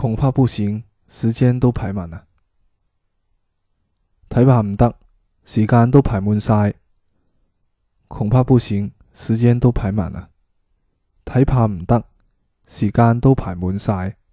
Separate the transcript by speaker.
Speaker 1: 恐怕不行，時間都排滿啦。睇怕唔得，時間都排滿晒。恐怕不行，時間都排滿啦。睇怕唔得，時間都排滿晒。